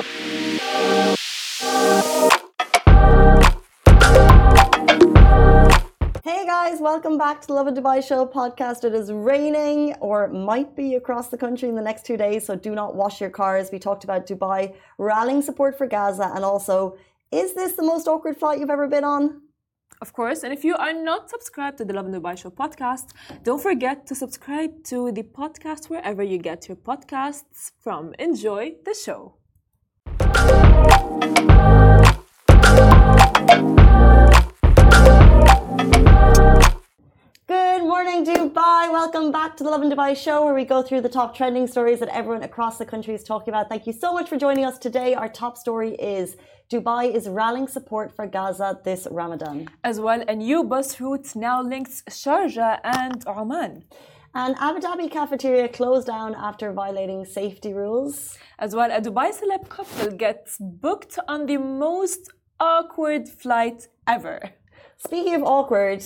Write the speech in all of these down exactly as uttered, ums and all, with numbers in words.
Hey guys, welcome back to the Love in Dubai Show podcast. It is raining or might be across the country in the next two days, so do not wash your cars. We talked about Dubai rallying support for Gaza, and also, is this the most awkward flight you've ever been on? Of course, and if you are not subscribed to the Love in Dubai Show podcast, don't forget to subscribe to the podcast wherever you get your podcasts from. Enjoy the show. Good morning, Dubai. Welcome back to the Love in Dubai Show, where we go through the top trending stories that everyone across the country is talking about. Thank you so much for joining us today. Our top story is Dubai is rallying support for Gaza this Ramadan. As well, a new bus route now links Sharjah and Oman. An Abu Dhabi cafeteria closed down after violating safety rules. As well, a Dubai celeb couple gets booked on the most awkward flight ever. Speaking of awkward,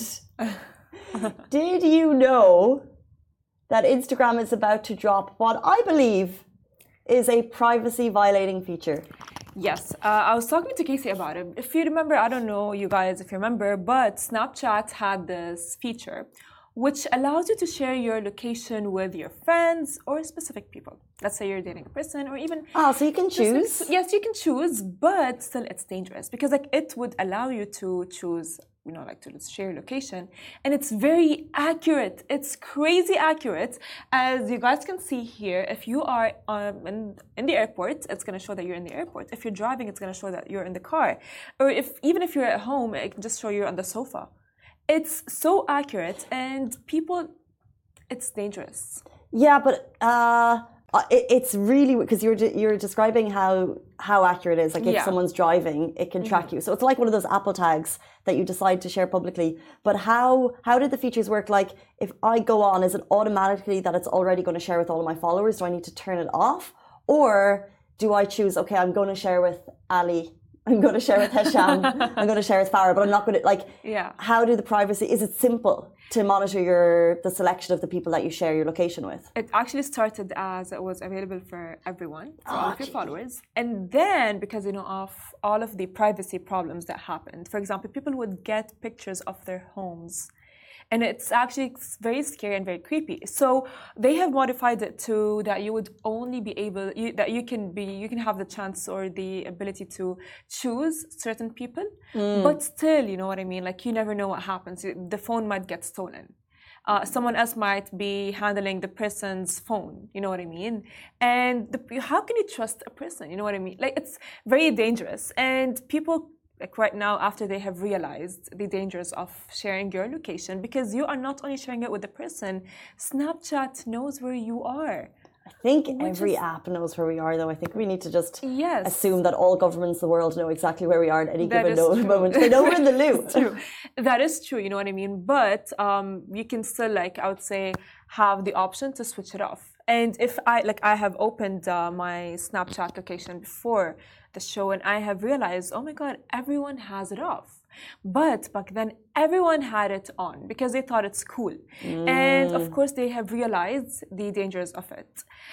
did you know that Instagram is about to drop what I believe is a privacy violating feature? Yes, uh, I was talking to Casey about it. If you remember, I don't know you guys if you remember, but Snapchat had this feature which allows you to share your location with your friends or specific people. Let's say you're dating a person or even... Ah, so you can choose? Yes, you can choose, but still it's dangerous because like it would allow you to choose, you know, like to share your location, and it's very accurate. It's crazy accurate. As you guys can see here, if you are um, in, in the airport, it's going to show that you're in the airport. If you're driving, it's going to show that you're in the car. Or if even if you're at home, it can just show you're on the sofa. It's so accurate, and people, it's dangerous. Yeah, but uh, it, it's really because you're you're describing how how accurate it is. Like if Yeah. someone's driving, it can track you. So it's like one of those Apple tags that you decide to share publicly. But how how did the features work? Like if I go on, is it automatically that it's already going to share with all of my followers? Do I need to turn it off, or do I choose? Okay, I'm going to share with Ali. I'm going to share with Hesham. I'm going to share with Farah, but I'm not going to like. Yeah. How do the privacy? Is it simple to monitor your the selection of the people that you share your location with? It actually started as it was available for everyone, for all Oh, of your gee. followers. And then, because, you know, of all of the privacy problems that happened, for example, people would get pictures of their homes. And it's actually very scary and very creepy. So they have modified it to that you would only be able, you, that you can be, you can have the chance or the ability to choose certain people. Mm. But still, you know what I mean? Like you never know what happens. The phone might get stolen. Uh, someone else might be handling the person's phone, you know what I mean? And the, how can you trust a person, you know what I mean? Like it's very dangerous. And people, like right now, after they have realized the dangers of sharing your location, because you are not only sharing it with the person, Snapchat knows where you are. I think Which every is- app knows where we are, though. I think we need to just Yes. assume that all governments in the world know exactly where we are at any That given is no- true. moment. They know we're in the loop. It's true. That is true, you know what I mean? But um, you can still, like, I would say, have the option to switch it off. And if I, like, I have opened uh, my Snapchat location before the show and I have realized, oh my God, everyone has it off. But back then, everyone had it on because they thought it's cool. Mm. And of course, they have realized the dangers of it.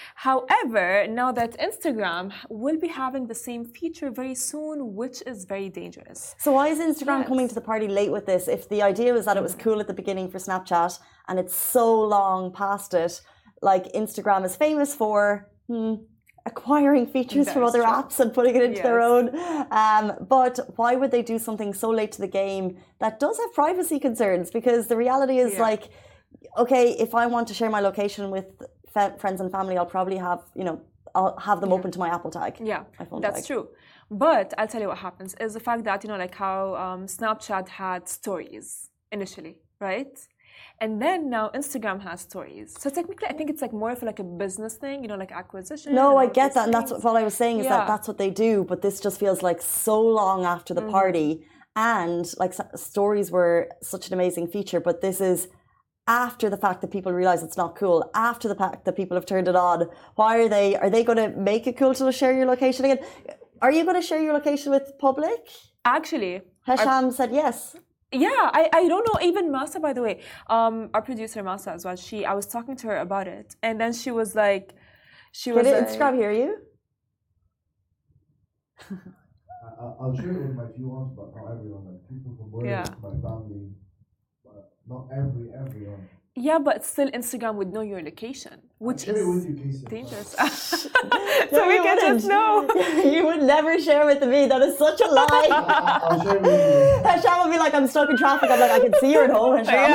However, now that Instagram will be having the same feature very soon, which is very dangerous. So why is Instagram Yes. coming to the party late with this? If the idea was that it was cool at the beginning for Snapchat and it's so long past it, like Instagram is famous for hmm, acquiring features That from is other true. apps and putting it into their Yes. own. Um, but why would they do something so late to the game that does have privacy concerns? Because the reality is Yeah. like, okay, if I want to share my location with f- friends and family, I'll probably have, you know, I'll have them Yeah. open to my Apple tag. Yeah, my phone that's tag. true. But I'll tell you what happens is the fact that, you know, like how um, Snapchat had stories initially, right? And then now Instagram has stories. So technically, I think it's like more of like a business thing, you know, like acquisition. No, and I all get these that. And that's things. what, what I was saying is Yeah. that that's what they do. But this just feels like so long after the Mhm. party. And like s- stories were such an amazing feature. But this is after the fact that people realize it's not cool, after the fact that people have turned it on. Why are they, are they going to make it cool to share your location again? Are you going to share your location with public? Actually, Hesham said yes. yeah, I, I don't know, even Masa, by the way, um, our producer Masa as well, she, I was talking to her about it. And then she was like, she was Can like, Instagram hear you? I, I'll share it with my few ones, but not everyone. Like people from work, Yeah. my family, but not every everyone. Yeah, but still Instagram would know your location, which I'll share it is with you, Casey. dangerous. No, So we you can wouldn't. just know. You would never share with me. That is such a lie. I- I'll share it with you. Hasham will be like, I'm stuck in traffic. I'm like, I can see you're at home, Hasham.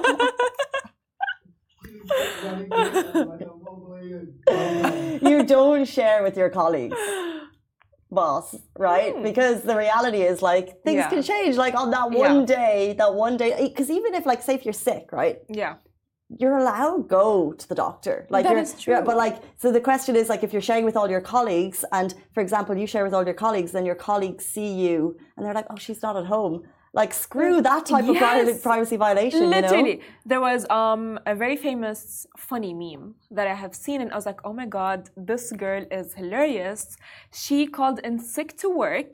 You don't share with your colleagues, boss, right? Hmm. Because the reality is like things Yeah. can change. Like on that one day, that one day, because even if like say if you're sick, right? Yeah. You're allowed go to the doctor. Like That you're, is true. yeah, but like, so the question is like, if you're sharing with all your colleagues, and for example, you share with all your colleagues, then your colleagues see you, and they're like, oh, she's not at home. Like, screw that type Yes. of privacy, privacy violation. Literally, You know? there was um, a very famous funny meme that I have seen, and I was like, oh my god, this girl is hilarious. She called in sick to work,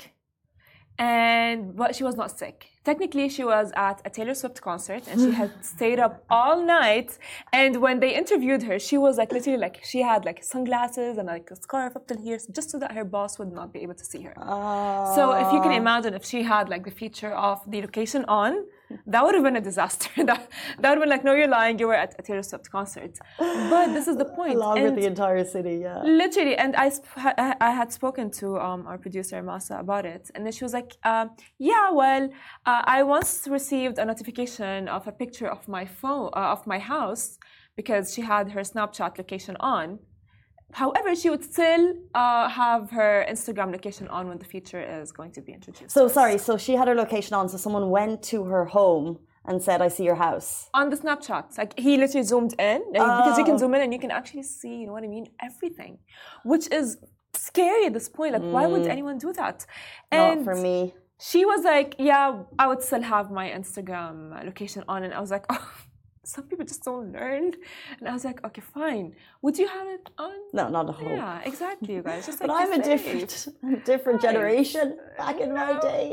and but she was not sick. Technically, she was at a Taylor Swift concert, and she had stayed up all night. And when they interviewed her, she was like literally like she had like sunglasses and like a scarf up till here, just so that her boss would not be able to see her. Uh, So if you can imagine if she had like the feature of the location on, that would have been a disaster. that, that would have been like, no, you're lying, you were at a Taylor Swift concert. But this is the point. along And with the entire city, yeah. literally, and I, sp- I I had spoken to um, our producer, Masa, about it. And then she was like, um, yeah, well, uh, I once received a notification of a picture of my phone, uh, of my house, because she had her Snapchat location on. However, she would still uh, have her Instagram location on when the feature is going to be introduced. So, sorry, so she had her location on, so someone went to her home and said, I see your house. On the Snapchat, like he literally zoomed in, like, because you can Oh. zoom in and you can actually see, you know what I mean, everything, which is scary at this point. Like, why would anyone do that? Not for me. She was like, yeah, I would still have my Instagram location on, and I was like, oh. Some people just don't learn. And I was like, okay, fine. Would you have it on? No, not a home. Yeah, exactly, you guys. Just like But you I'm a say. different, different Right. generation back in my No. day.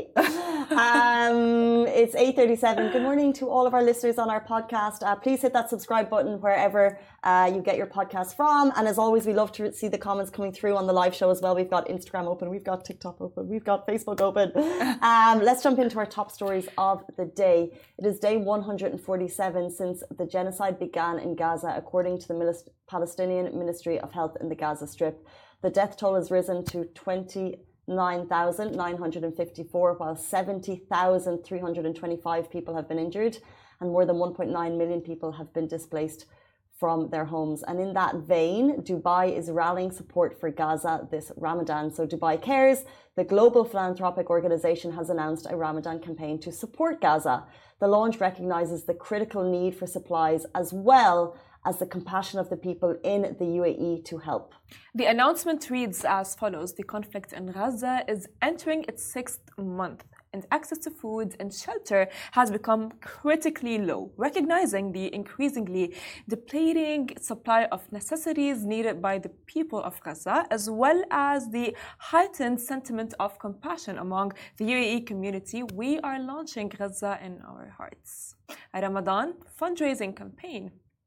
Um, it's eight thirty-seven. Good morning to all of our listeners on our podcast. Uh, please hit that subscribe button wherever uh, you get your podcast from. And as always, we love to see the comments coming through on the live show as well. We've got Instagram open, we've got TikTok open, we've got Facebook open. Um, let's jump into our top stories of the day. It is day one hundred forty-seven since the genocide began in Gaza, according to the Palestinian Ministry of Health in the Gaza Strip. The death toll has risen to twenty-nine thousand nine hundred fifty-four, while seventy thousand three hundred twenty-five people have been injured, and more than one point nine million people have been displaced from their homes. And in that vein, Dubai is rallying support for Gaza this Ramadan. So Dubai Cares, the global philanthropic organization, has announced a Ramadan campaign to support Gaza. The launch recognizes the critical need for supplies as well as the compassion of the people in the U A E to help. The announcement reads as follows. The conflict in Gaza is entering its sixth month, and access to food and shelter has become critically low, recognizing the increasingly depleting supply of necessities needed by the people of Gaza, as well as the heightened sentiment of compassion among the U A E community. We are launching Gaza in our hearts, a Ramadan fundraising campaign.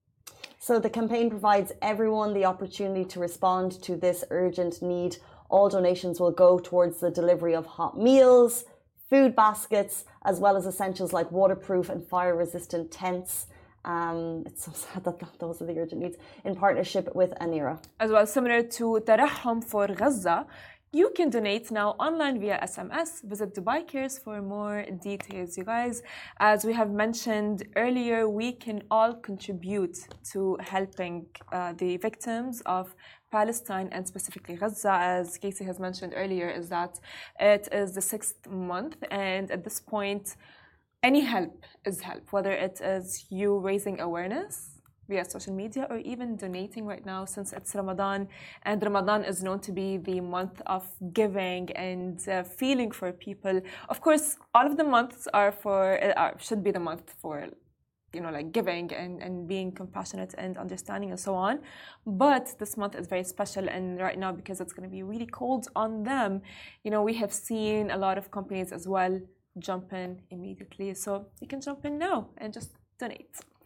So the campaign provides everyone the opportunity to respond to this urgent need. All donations will go towards the delivery of hot meals, food baskets, as well as essentials like waterproof and fire-resistant tents. Um, it's so sad that those are the urgent needs, in partnership with Anira. As well, similar to Tarahum for Gaza, you can donate now online via S M S. Visit Dubai Cares for more details. You guys, as we have mentioned earlier, we can all contribute to helping uh, the victims of Palestine and specifically Gaza. As Casey has mentioned earlier, is that it is the sixth month, and at this point, any help is help, whether it is you raising awareness via social media or even donating right now, since it's Ramadan, and Ramadan is known to be the month of giving and uh, feeling for people. Of course, all of the months are for uh, should be the month for, you know, like giving and, and being compassionate and understanding and so on. But this month is very special, and right now, because it's going to be really cold on them, you know, we have seen a lot of companies as well jump in immediately. So you can jump in now and just donate.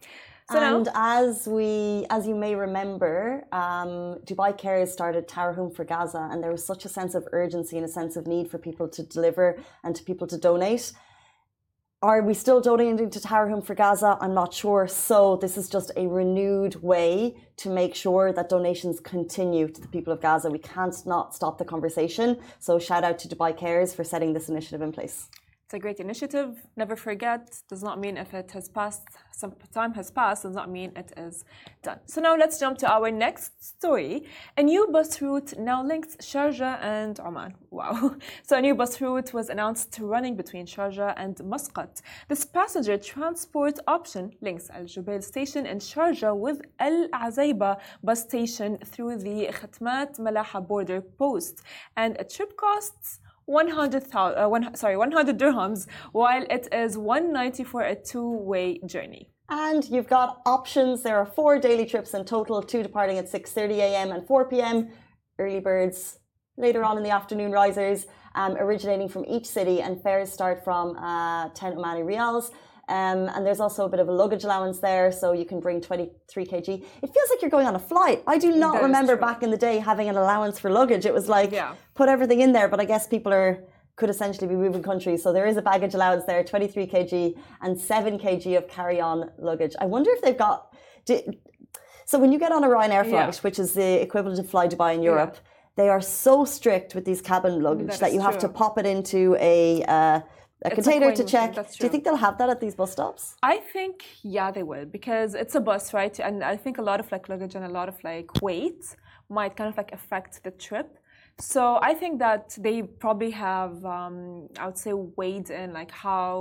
So and now, as we, as you may remember, um, Dubai Cares started Tower Home for Gaza, and there was such a sense of urgency and a sense of need for people to deliver and to people to donate. Are we still donating to Tower Home for Gaza? I'm not sure. So this is just a renewed way to make sure that donations continue to the people of Gaza. We can't not stop the conversation. So shout out to Dubai Cares for setting this initiative in place. it's a great initiative. Never forget, does not mean if it has passed, some time has passed, does not mean it is done. So now let's jump to our next story. A new bus route now links Sharjah and Oman. Wow. So a new bus route was announced running between Sharjah and Muscat. This passenger transport option links Al Jubail station in Sharjah with Al Azaiba bus station through the Khatmat Malaha border post. And a trip costs one hundred, uh, one, sorry, one hundred dirhams, while it is one hundred ninety for a two-way journey. And you've got options. There are four daily trips in total, two departing at six thirty a m and four p m, early birds later on in the afternoon risers, um, originating from each city, and fares start from uh, ten Omani Riyals. Um, and there's also a bit of a luggage allowance there, so you can bring twenty-three kilograms. It feels like you're going on a flight. I do not That is remember true. back in the day having an allowance for luggage. It was like, Yeah. put everything in there, but I guess people are could essentially be moving countries. So there is a baggage allowance there, twenty-three kilograms and seven kilograms of carry-on luggage. I wonder if they've got... Do, so when you get on a Ryanair flight, Yeah. which is the equivalent of Fly Dubai in Europe, they are so strict with these cabin luggage That that is you have to true. pop it into a... Uh, a It's a container coin to machine, check. that's Do you true. think they'll have that at these bus stops? I think, yeah, they will, because it's a bus, right? And I think a lot of like luggage and a lot of like weight might kind of like affect the trip. So I think that they probably have, um, I would say, weighed in like how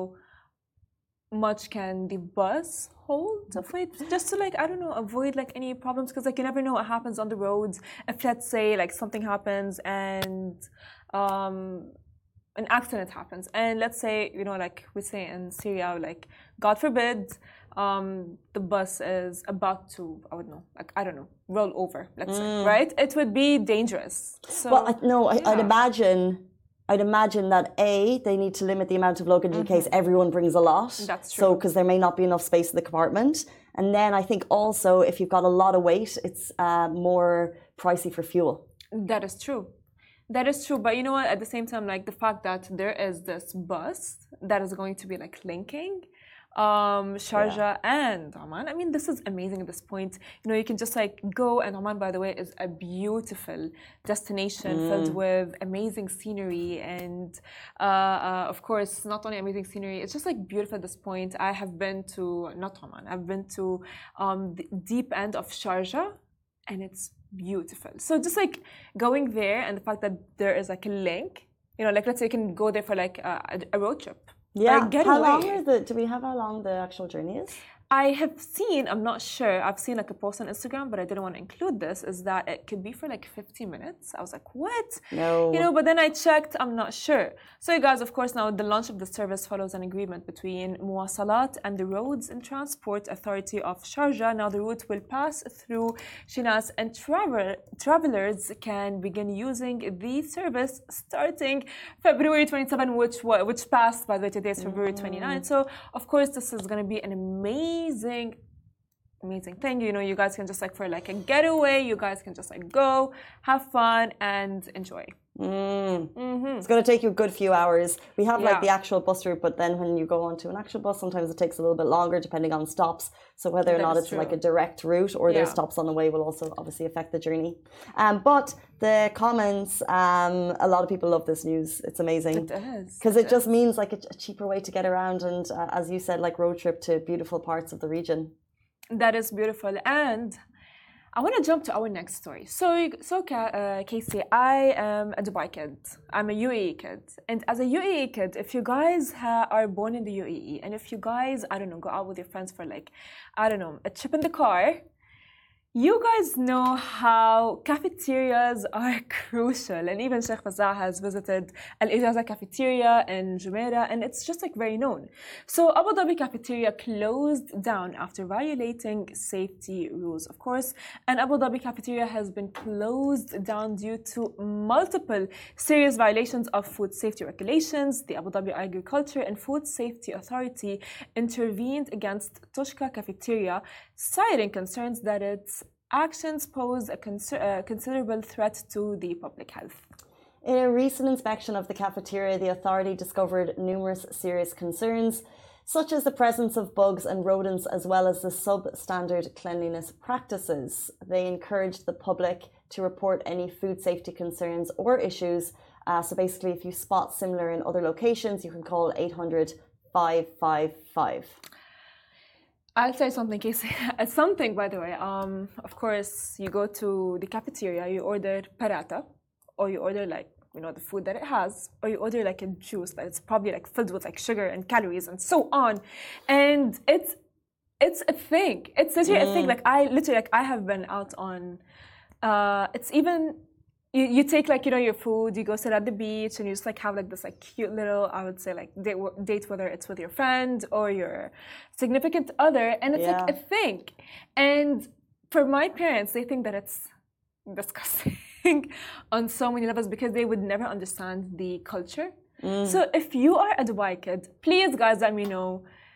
much can the bus hold of weight, just to like, I don't know, avoid like any problems, because like you never know what happens on the roads. If let's say like something happens and um, an accident happens, and let's say, you know, like we say in Syria, like God forbid, um, the bus is about to, I would know, like I don't know, roll over, let's say, right? It would be dangerous. So, Well, I, no, I, I'd yeah. imagine, I'd imagine that A, they need to limit the amount of luggage in case everyone brings a lot. That's So, true. because there may not be enough space in the compartment. And then I think also, if you've got a lot of weight, it's uh, more pricey for fuel. That is true. That is true, but you know what? At the same time, like the fact that there is this bus that is going to be like linking um, Sharjah and Oman. I mean, this is amazing at this point. You know, you can just like go, and Oman, by the way, is a beautiful destination filled with amazing scenery, and uh, uh, of course, not only amazing scenery, it's just like beautiful at this point. I have been to not Oman. I've been to um, the deep end of Sharjah, and it's beautiful. So just like going there, and the fact that there is like a link, you know, like let's say you can go there for like a, a road trip. Yeah. Or a getaway. How long are the, do we have how long the actual journey is? I have seen, I'm not sure, I've seen like a post on Instagram, but I didn't want to include this, is that it could be for like fifty minutes. I was like, what? No. You know, but then I checked, I'm not sure. So you guys, of course, now the launch of the service follows an agreement between Muwasalat and the Roads and Transport Authority of Sharjah. Now the route will pass through Shinas, and travel, travelers can begin using the service starting February twenty-seventh, which which passed, by the way, today is February twenty-ninth. So, of course, this is going to be an amazing amazing amazing thing. You know, you guys can just like for like a getaway, you guys can just like go have fun and enjoy. Mm. Mm-hmm. It's going to take you a good few hours. We have like Yeah. the actual bus route, but then when you go onto an actual bus, sometimes it takes a little bit longer depending on stops. So whether or That not is it's true. like a direct route or there's Yeah. stops on the way will also obviously affect the journey. Um, but the comments, um, a lot of people love this news. It's amazing. It is. Because it just means like a, a cheaper way to get around, and uh, as you said, like road trip to beautiful parts of the region. That is beautiful. And I want to jump to our next story. So, so uh, Casey, I am a Dubai kid. I'm a U A E kid. And as a U A E kid, if you guys ha- are born in the U A E, and if you guys, I don't know, go out with your friends for like, I don't know, a trip in the car, You guys know how cafeterias are crucial, and even Sheikh Fazzah has visited Al Ijaza cafeteria in Jumeirah, and it's just like very known. So Abu Dhabi cafeteria closed down after violating safety rules, of course, and Abu Dhabi cafeteria has been closed down due to multiple serious violations of food safety regulations. The Abu Dhabi Agriculture and Food Safety Authority intervened against Toshka cafeteria, citing concerns that its actions pose a consider uh, considerable threat to the public health. In a recent inspection of the cafeteria, the authority discovered numerous serious concerns, such as the presence of bugs and rodents, as well as the substandard cleanliness practices. They encouraged the public to report any food safety concerns or issues. Uh, so basically, if you spot similar in other locations, you can call eight hundred, five five five. I'll say something, Casey. It's something, by the way. Um, of course, you go to the cafeteria, you order paratha, or you order like, you know, the food that it has, or you order like a juice that it's probably like filled with like sugar and calories and so on. And it's it's a thing. It's literally mm. a thing. Like I literally like I have been out on uh it's even You, you take like, you know, your food, you go sit at the beach and you just like have like this like cute little, I would say like date, date whether it's with your friend or your significant other, and it's yeah. like a thing. And for my parents, they think that it's disgusting on so many levels because they would never understand the culture. Mm. So if you are a Dubai kid, please guys let me know.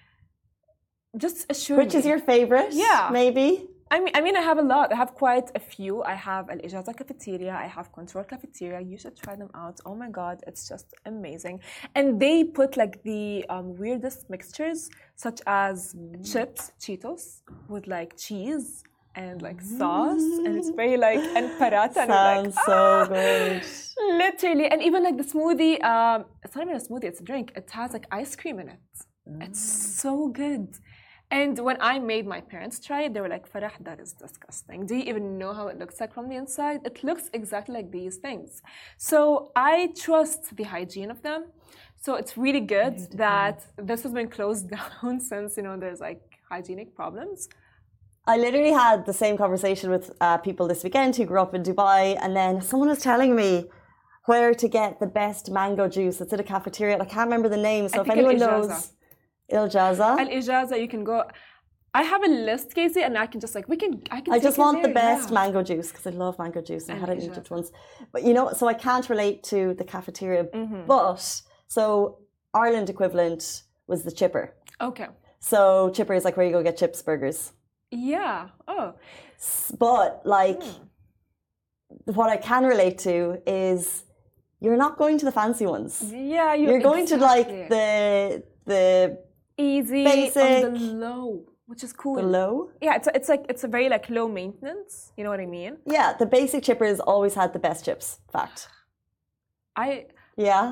Just assure Which me. is your favorite? Yeah. Maybe? I mean, I mean, I have a lot. I have quite a few. I have Al Ijaza cafeteria. I have Control cafeteria. You should try them out. Oh my God, it's just amazing. And they put like the um, weirdest mixtures, such as mm. chips, Cheetos, with like cheese and like sauce, mm. and it's very like and paratha. Sounds like, so ah! good. Literally, and even like the smoothie. Um, it's not even a smoothie; it's a drink. It has like ice cream in it. Mm. It's so good. And when I made my parents try it, they were like, Farah, that is disgusting. Do you even know how it looks like from the inside? It looks exactly like these things. So I trust the hygiene of them. So it's really good that this has been closed down since, you know, there's like hygienic problems. I literally had the same conversation with uh, people this weekend who grew up in Dubai, and then someone was telling me where to get the best mango juice. It's at a cafeteria. I can't remember the name. So I if anyone knows... Al Ijaza. Al Ijaza, you can go. I have a list, Casey, and I can just like we can. I can. I just want there, the best yeah. mango juice because I love mango juice. I Al had it in Ijaza. Egypt once, but you know, so I can't relate to the cafeteria. Mm-hmm. But so Ireland equivalent was the chipper. Okay. So chipper is like where you go get chips, burgers. Yeah. Oh. But like, mm. what I can relate to is you're not going to the fancy ones. Yeah, you, you're going exactly. to like the the. Easy, basic, on the low, which is cool. The low? Yeah, it's it's like it's a very like low maintenance. You know what I mean? Yeah, the basic chippers always had the best chips. Fact. I. Yeah.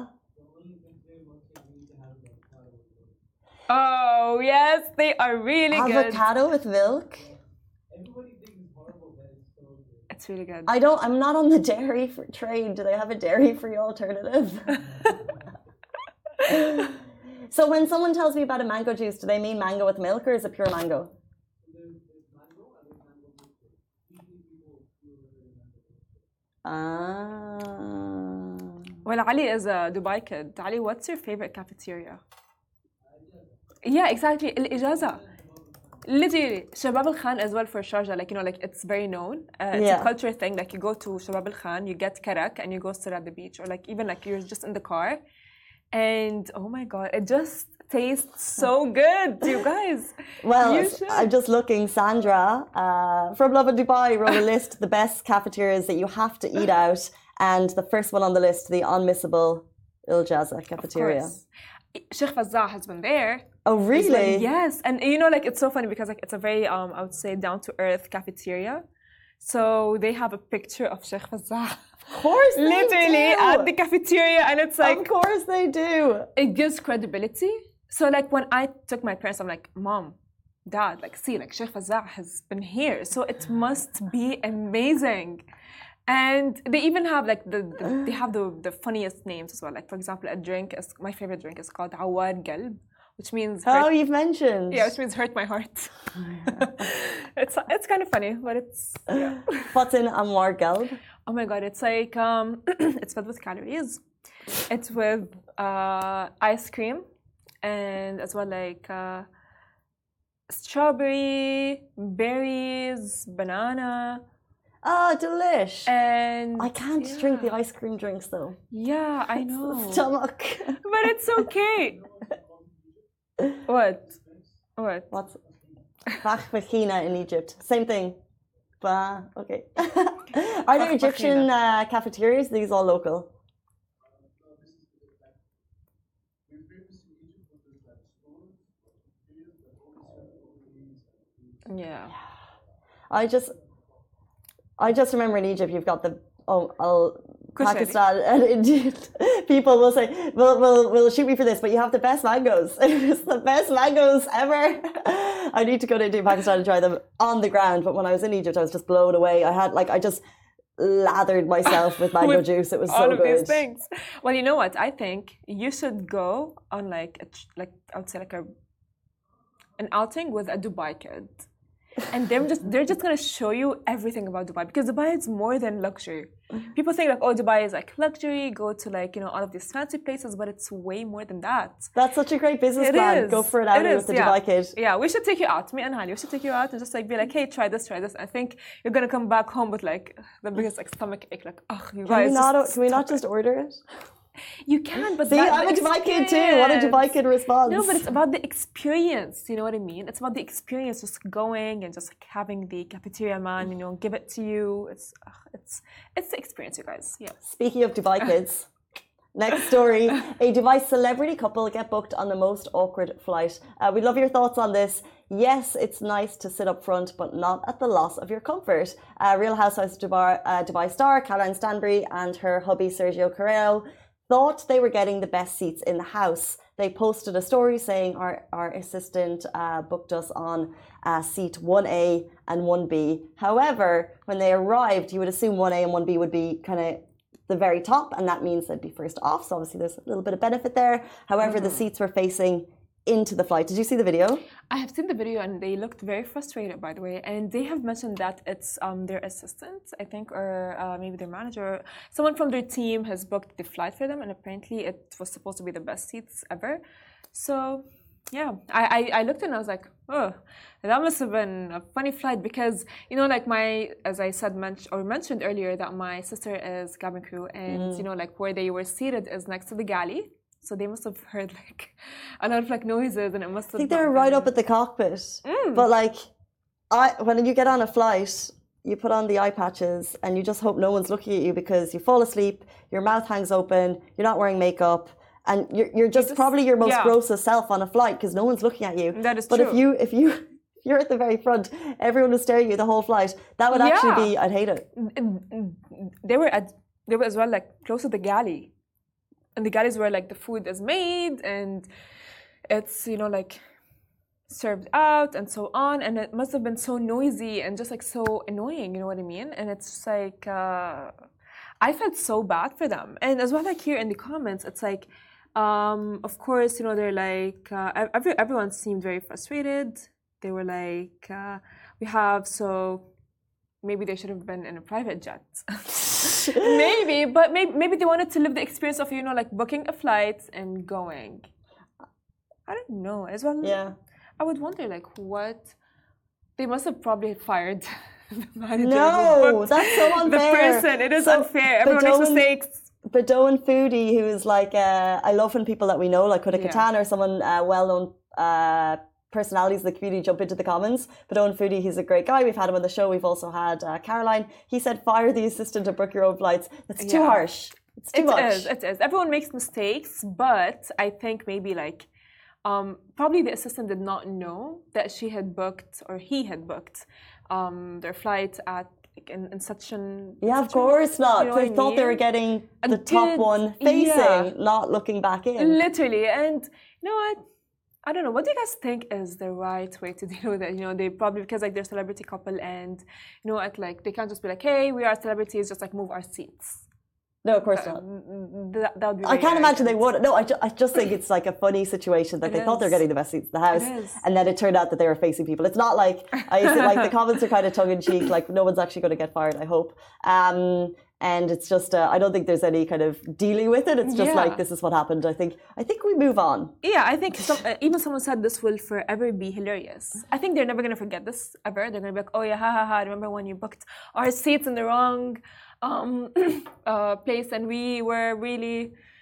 Oh yes, they are really Avocado good. Avocado with milk. Everybody thinks it's horrible, but it's so good. It's really good. I don't. I'm not on the dairy for trade. Do they have a dairy-free alternative? So when someone tells me about a mango juice, do they mean mango with milk or is it pure mango? Ah. Well, Ali is a Dubai kid. Ali, what's your favorite cafeteria? Yeah, exactly. Al Ijaza. Literally, Shabab al Khan as well for Sharjah. Like, you know, like it's very known. Uh, it's yeah. a culture thing. Like you go to Shabab al Khan, you get karak and you go sit at the beach. Or like even like you're just in the car. And oh my God, it just tastes so good, you guys. Well, you I'm just looking. Sandra uh, from Lovin Dubai wrote a list of the best cafeterias that you have to eat out. And the first one on the list, the unmissable Al Ijaza cafeteria. Sheikh Fazzah has been there. Oh, really? Well, yes. And you know, like it's so funny because like it's a very, um, I would say, down-to-earth cafeteria. So they have a picture of Sheikh Fazzah. Of course they literally do. At the cafeteria, and it's like, of course they do. It gives credibility. So like when I took my parents, I'm like, Mom, Dad, like see, like Sheikh Fazzah has been here, so it must be amazing. And they even have like the, the they have the the funniest names as well. Like for example, a drink is my favorite drink is called Awar Galb, which means Oh, hurt, you've mentioned. yeah, which means hurt my heart. it's it's kind of funny, but it's yeah. What's in Amwar Gelb? Oh my god, it's like um, it's filled with calories. It's with uh, ice cream and as well like uh, strawberry, berries, banana. Ah, delish. And I can't yeah. drink the ice cream drinks though. Yeah, I know. Stomach. But it's okay. What? What? What's Bachbachina in Egypt? Same thing. Bah, okay. Are there Egyptian uh, cafeterias? These all local? Yeah. I just, I just remember in Egypt you've got the oh, I'll, Pakistan and Indian people will say, will will will shoot me for this, but you have the best mangoes. It's the best mangoes ever. I need to go to India, Pakistan and try them on the ground. But when I was in Egypt, I was just blown away. I had like I just lathered myself with mango with juice. It was so all of good. These things. Well, you know what? I think you should go on like a, like I would say like a an outing with a Dubai kid. And they're just they're just gonna show you everything about Dubai because Dubai is more than luxury. People think like, oh, Dubai is like luxury, go to like, you know, all of these fancy places, but it's way more than that. That's such a great business It plan. is. Go for it outing It is, with the yeah. Dubai kid. Yeah, we should take you out. Me and Hali, we should take you out and just like be like, hey, try this, try this. I think you're gonna come back home with like the biggest like stomach ache, like, oh, you Can guys. we not? just Can we not stop just order it? You can, but See, that, I'm a the Dubai kid too. What a Dubai kid response. No, but it's about the experience. You know what I mean? It's about the experience, just going and just like having the cafeteria man, you know, give it to you. It's, uh, it's, it's the experience, you guys. Yeah. Speaking of Dubai kids, next story: a Dubai celebrity couple get booked on the most awkward flight. Uh, we'd love your thoughts on this. Yes, it's nice to sit up front, but not at the loss of your comfort. Uh, Real Housewives of Dubai, uh, Dubai star Caroline Stanbury and her hubby Sergio Carrero thought they were getting the best seats in the house. They posted a story saying our, our assistant uh, booked us on uh, seat one A and one B. However, when they arrived, you would assume one A and one B would be kind of the very top, and that means they'd be first off. So obviously there's a little bit of benefit there. However, mm-hmm. the seats were facing into the flight. Did you see the video? I have seen the video and they looked very frustrated, by the way. And they have mentioned that it's um, their assistant, I think, or uh, maybe their manager. Someone from their team has booked the flight for them, and apparently it was supposed to be the best seats ever. So, yeah, I, I, I looked and I was like, oh, that must have been a funny flight because, you know, like my, as I said, men- or mentioned earlier, that my sister is cabin crew, and, mm. you know, like where they were seated is next to the galley. So they must have heard like a lot of like noises, and it must have. I think they were right up at the cockpit. Mm. But like, I when you get on a flight, you put on the eye patches, and you just hope no one's looking at you because you fall asleep, your mouth hangs open, you're not wearing makeup, and you're you're just, just probably your most yeah. grossest self on a flight because no one's looking at you. That is but true. But if you if you if you're at the very front, everyone was staring at you the whole flight. That would yeah. actually be. I'd hate it. They were at they were as well like close to the galley. And the galleys where like the food is made and it's, you know, like served out and so on. And it must have been so noisy and just like so annoying, you know what I mean? And it's just like, uh, I felt so bad for them. And as well, like here in the comments, it's like, um, of course, you know, they're like, uh, every, everyone seemed very frustrated. They were like, uh, we have, so maybe they should have been in a private jet. Maybe, but maybe maybe they wanted to live the experience of, you know, like booking a flight and going. I don't know as well. Yeah, I would wonder like what they must have probably fired the manager. No, that's so unfair. The person, it is so unfair. Everyone makes mistakes. Badoan Foodie, who's like, uh, I love when people that we know, like Kuda Katan yeah. or someone uh, well-known. Uh, personalities in the community jump into the comments. But Owen Foodie, he's a great guy. We've had him on the show. We've also had uh, Caroline. He said, fire the assistant to book your own flights. It's too yeah. harsh. It's too it much. It is. It is. Everyone makes mistakes, but I think maybe like um, probably the assistant did not know that she had booked or he had booked um, their flight at in, in such an yeah, such of course a, not. You know they I thought mean? they were getting the did, top one facing, yeah. not looking back in. Literally, and you know what? I don't know. What do you guys think is the right way to deal with it? You know, they probably, because like they're a celebrity couple and, you know, at like, they can't just be like, hey, we are celebrities, just like move our seats. No, of course not. That, that would be I very can't imagine they arrogant. would. No, I, ju- I just think it's like a funny situation that It they thought they're is. getting the best seats in the house, It is. and then it turned out that they were facing people. It's not like I used to, like the comments are kind of tongue in cheek, like no one's actually going to get fired. I hope. Um, and it's just uh, I don't think there's any kind of dealing with it. It's just Yeah. like this is what happened. I think I think we move on. Yeah, I think some, uh, even someone said this will forever be hilarious. I think they're never gonna forget this ever. They're gonna be like, oh yeah, ha ha ha. Remember when you booked our seats in the wrong um, uh, place and we were really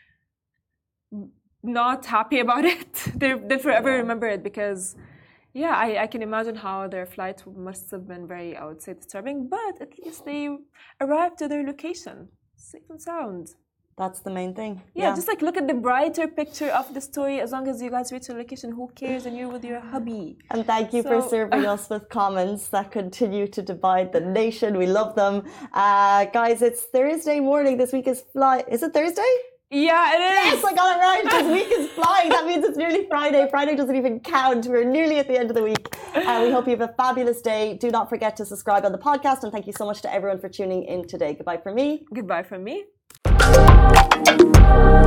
not happy about it. they they forever Yeah. remember it because, yeah, I, I can imagine how their flight must have been very, I would say, disturbing. But at least they arrived to their location, safe and sound. That's the main thing. Yeah, just like look at the brighter picture of the story. As long as you guys reach your location, who cares? And you're with your hubby. And thank you for So- serving us with comments that continue to divide the nation. We love them. Uh, guys, it's Thursday morning. This week is fly. Is it Thursday? Yeah, it is. Yes, I got it right. This week is flying. That means it's nearly Friday. Friday doesn't even count. We're nearly at the end of the week. Uh, we hope you have a fabulous day. Do not forget to subscribe on the podcast. And thank you so much to everyone for tuning in today. Goodbye from me. Goodbye from me.